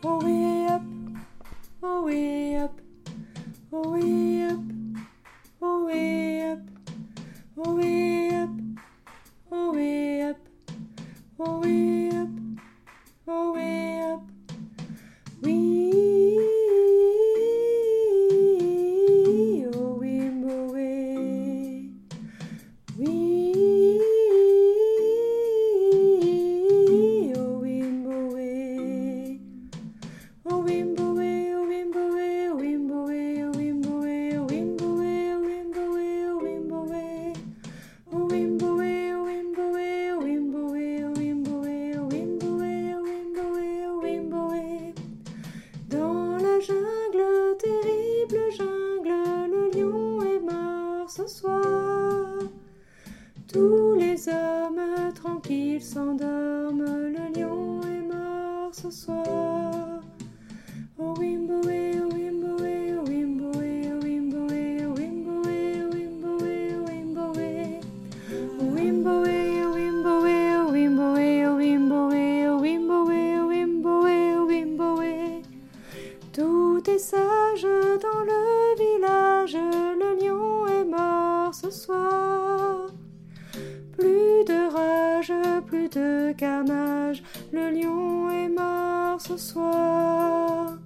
Oh way up, oh way up, oh way up, oh way up, oh way up, oh way up, oh way up, oh way up. Oui, oh wimbo way. Oui, oh wimbo way. Oh wimbo way, oh wimbo way, oh wimbo way, oh wimbo way, oh wimbo way, oh wimbo way, oh wimbo way. Oh wimbo way, oh wimbo way, oh wimbo way, oh wimbo way, oh wimbo way, oh wimbo way, oh wimbo way. Dans la jungle, terrible jungle, le lion est mort ce soir. Tous les hommes tranquilles s'endorment, le lion est mort ce soir. Oh wimbo way, oh wimbo way, oh wimbo way, oh wimbo way, oh wimbo way, oh wimbo way, oh wimbo way. Oh wimbo way, oh wimbo way, oh wimbo way, oh wimbo way, oh wimbo way, oh wimbo way, oh wimbo way. Tout est sage dans le village, le lion est mort ce soir. Plus de rage, plus de carnage, le lion est mort ce soir.